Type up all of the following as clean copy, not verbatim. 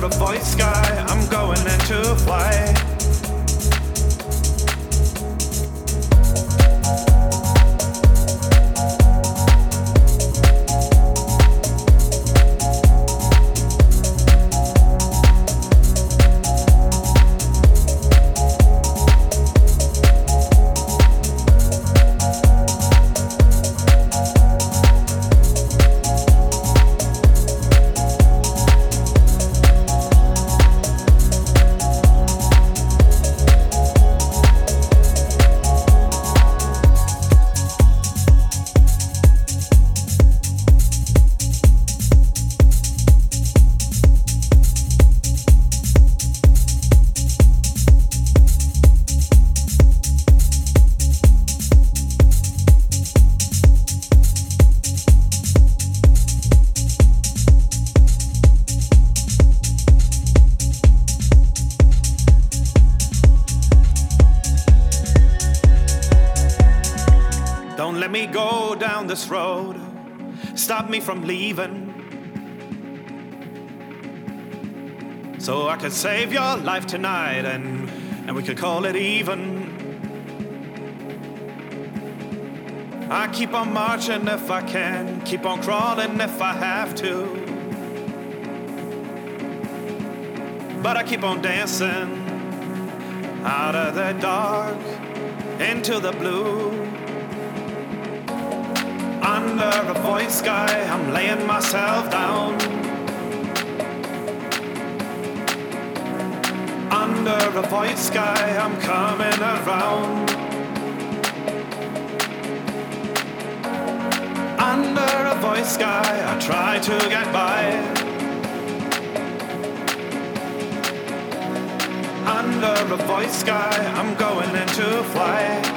a void sky, I'm going into flight. This road, stop me from leaving, so I could save your life tonight and we could call it even. I keep on marching if I can, keep on crawling if I have to, but I keep on dancing out of the dark into the blue. Under a void sky, I'm laying myself down. Under a void sky, I'm coming around. Under a void sky, I try to get by. Under a void sky, I'm going into flight.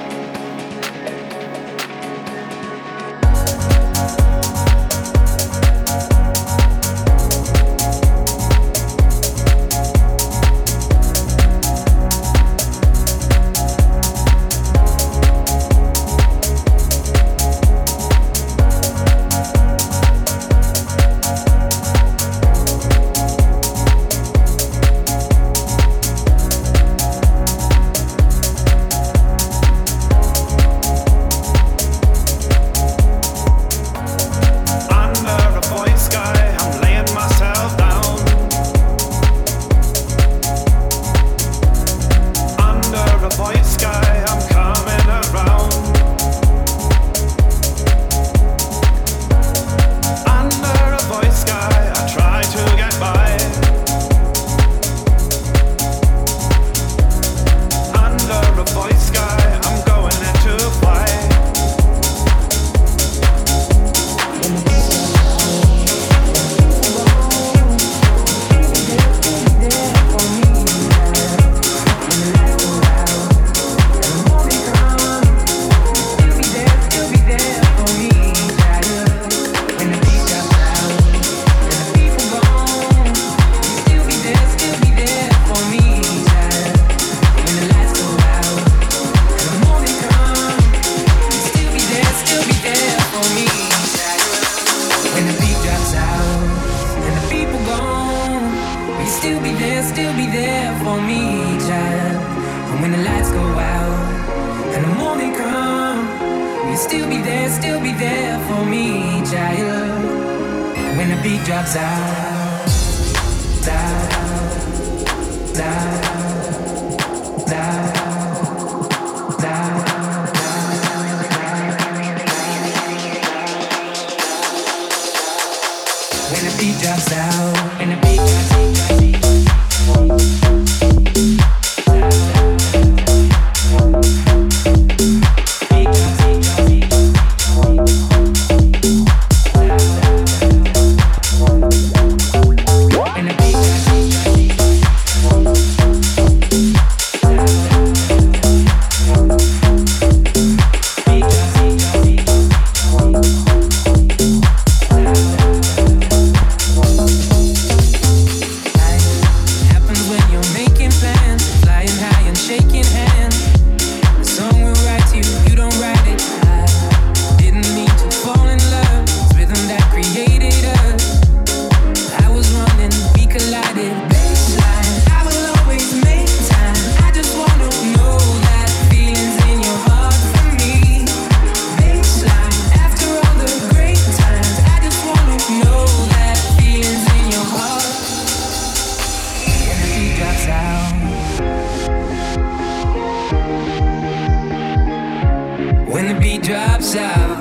when the beat drops out.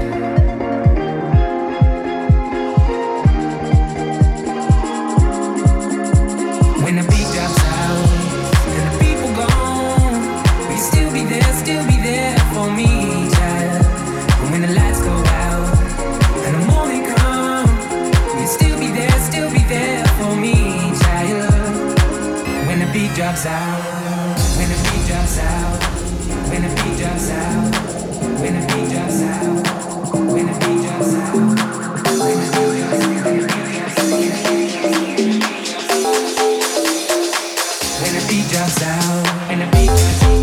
When the beat drops out and the people gone, will you still be there for me, child? And when the lights go out and the morning come, will you still be there for me, child? When the beat drops out, when the beat drops out, when the beat drops out, when the beat drops out, when the beat drops out, when the beat drops out, when the beat drops out. When the beat drops out, when the beat drops out.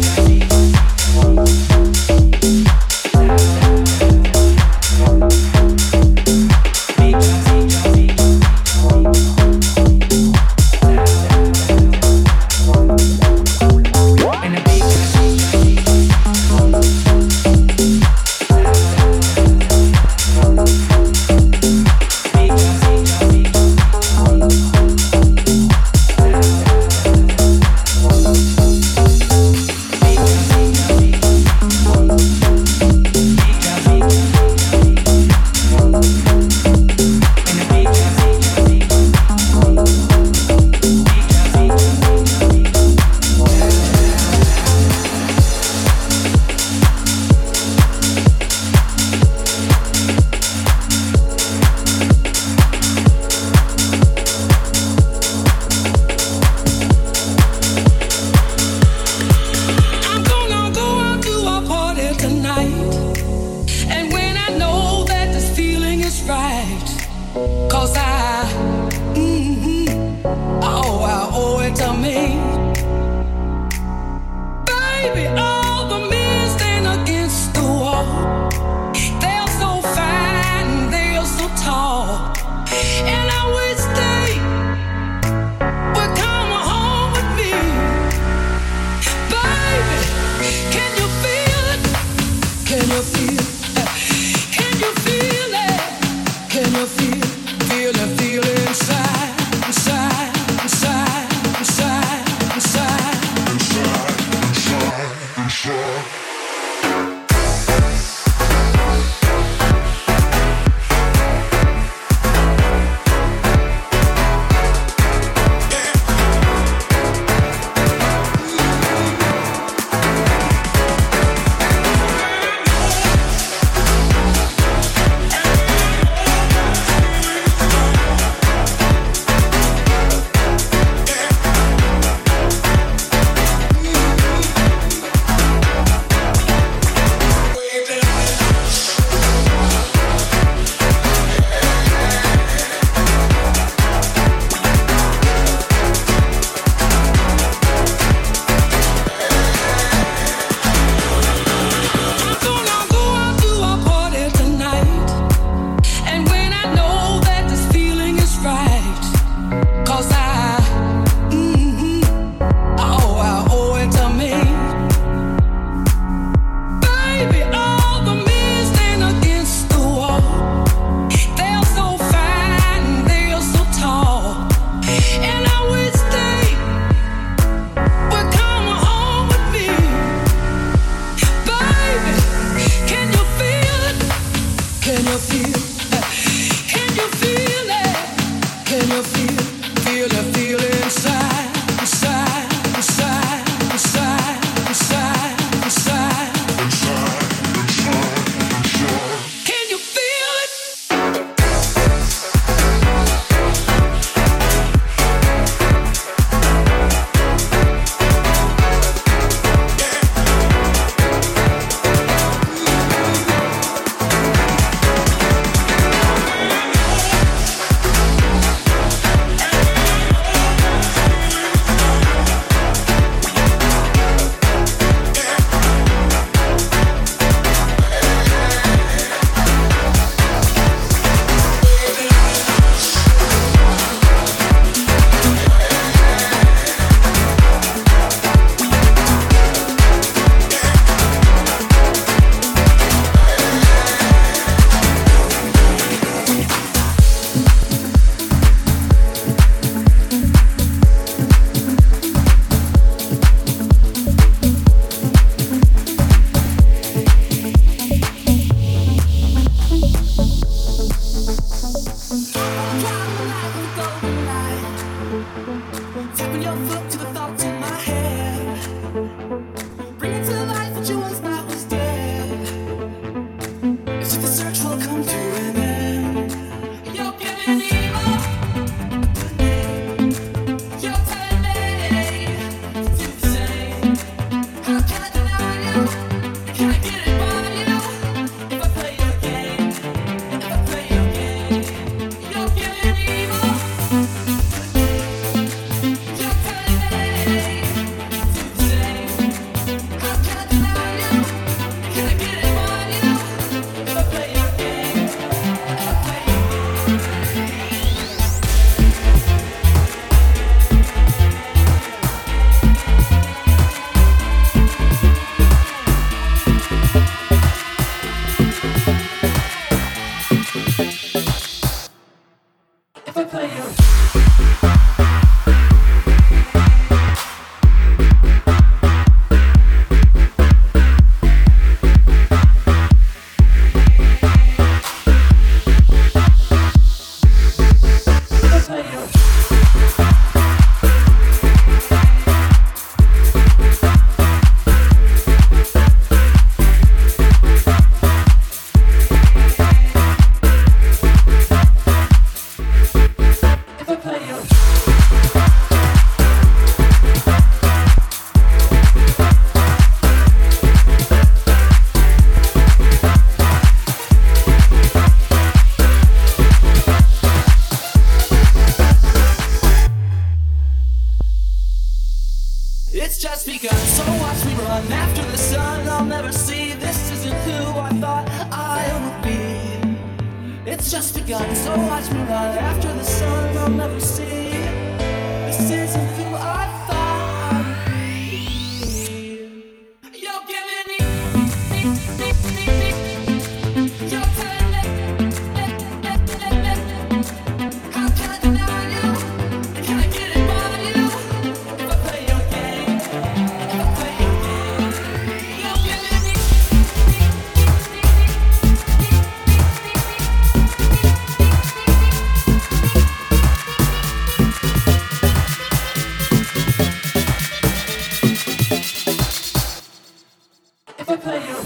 just begun. So watch me run after the sun. I'll never see. This isn't who I thought I'd be. You're giving me. You're telling me. How can I deny you? Can I get it by you? If I play your game, if I play your game, you're giving me. If I play your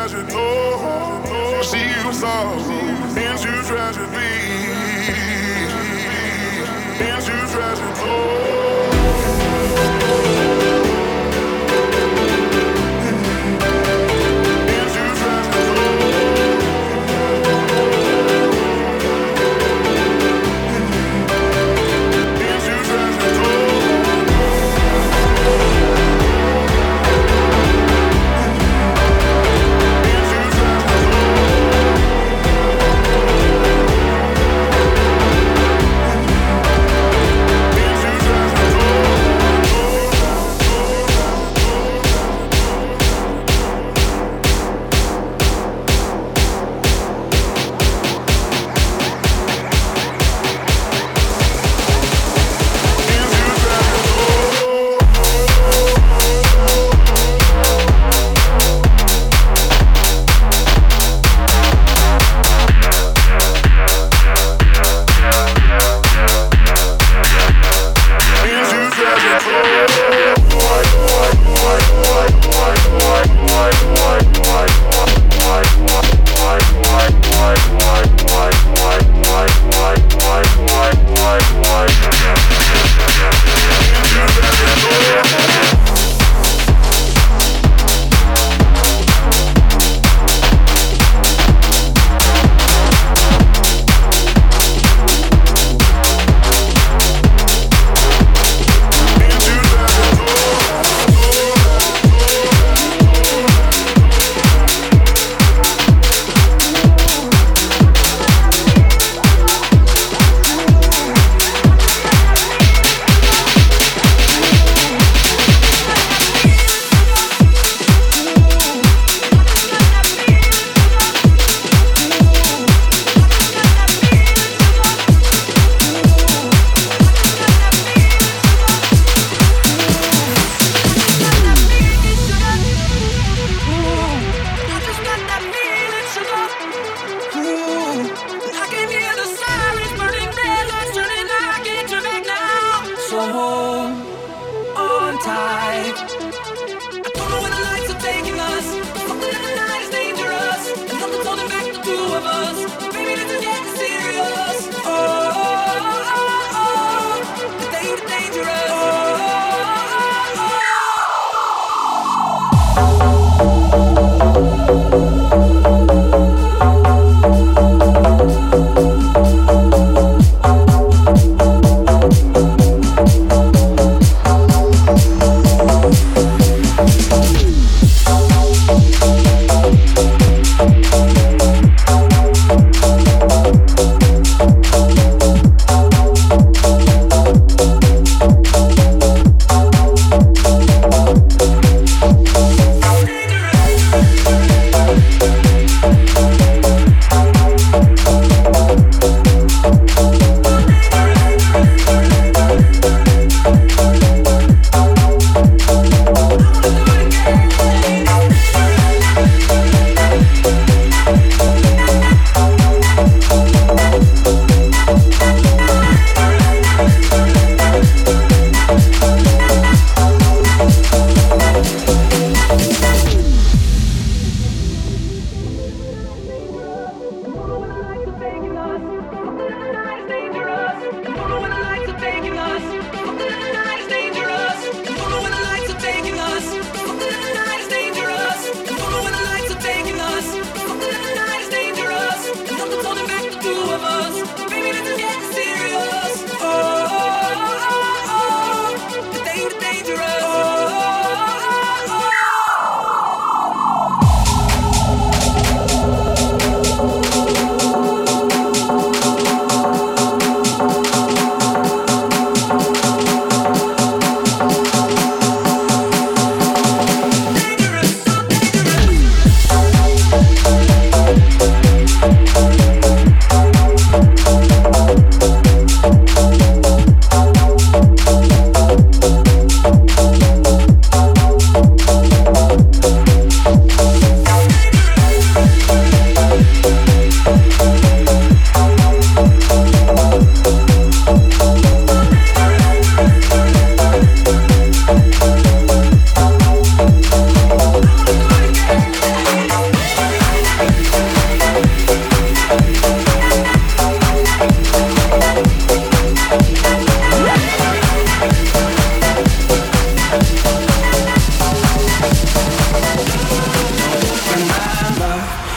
treasure. Oh, see you sorrow into tragedy. Into tragedy. Oh,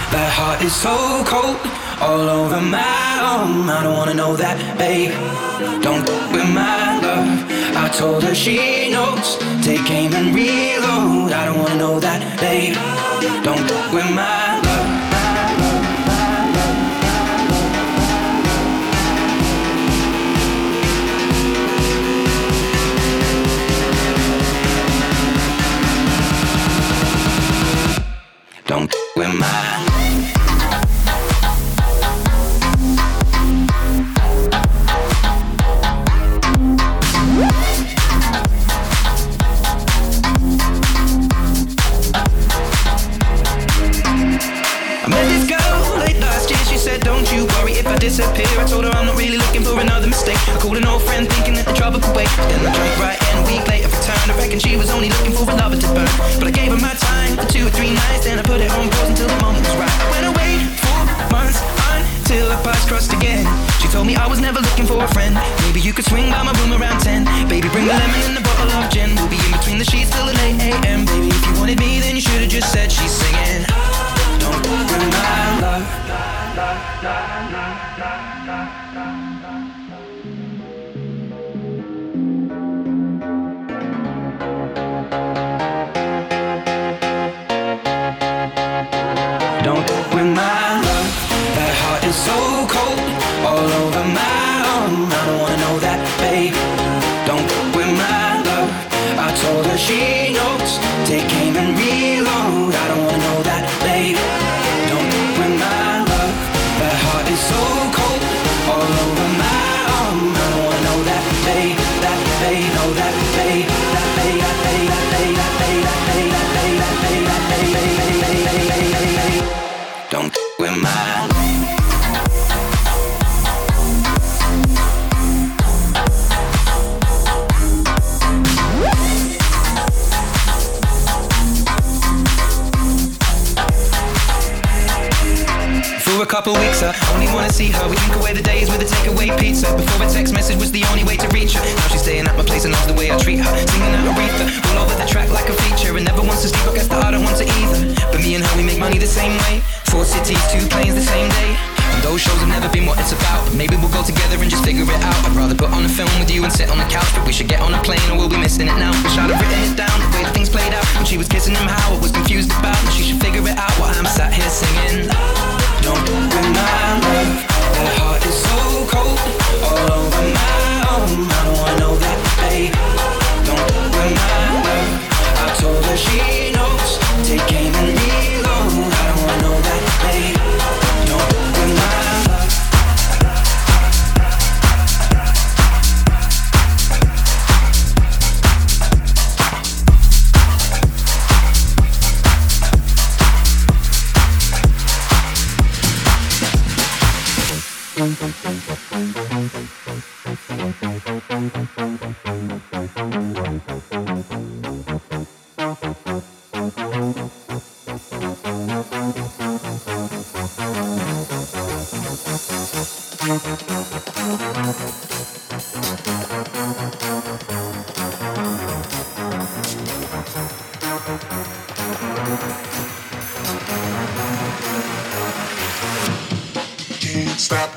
That heart is so cold, all over my arm. I don't wanna know that, babe. Don't with my love. I told her she knows. Take aim and reload. I don't wanna know that, babe. Don't with my love. Don't with mine. I met this girl late last year. She said, don't you worry if I disappear. I told her I'm not really looking for another mistake. I called an old friend thinking that the trouble could wait. Then I drank right and a week later returned. I reckon she was only looking for a lover to burn. But I gave her my time for 2 or 3 nights. Then I put it on pause until the moment was right. I went away 4 months until our paths crossed again. She told me I was never looking for a friend. Maybe you could swing by my room around 10. Baby, bring the lemon and a bottle of gin. We'll be in between the sheets till the late AM. Baby, if you wanted me, then you should've just said she's singing. Don't ruin my love. Don't ruin my love. That heart is so cold, all over my arm. I don't wanna know that, babe. Don't ruin my love. I told her she knows. Take aim and reload. I don't wanna know that, babe. Don't ruin my love. That heart is so cold, all over my arm. I don't wanna know that, babe. That babe, know that babe. That babe, that babe, that babe, that babe, that babe, that babe, that babe, that babe, that babe. Don't ruin my love. For a couple weeks, I only wanna see her. We drink away the days with a takeaway pizza. Before a text message was the only way to reach her. Now she's staying at my place and knows the way I treat her. Singing out Aretha, all over the track like a feature. And never wants to sleep, I guess that I don't want to either. But me and her, we make money the same way. 4 cities, 2 planes the same day. And those shows have never been what it's about. But maybe we'll go together and just figure it out. I'd rather put on a film with you and sit on the couch. But we should get on a plane or we'll be missing it now. Wish I'd have written it down, the way that things played out. When she was kissing him, how I was confused about. And she should figure it out while I'm sat here singing. Don't ruin my love. That heart is so cold, all over my arm. I don't wanna know that, babe. Don't ruin my love. I told her she knows. Take aim and reload. I don't wanna know that, babe. Don't ruin my love. Can't stop.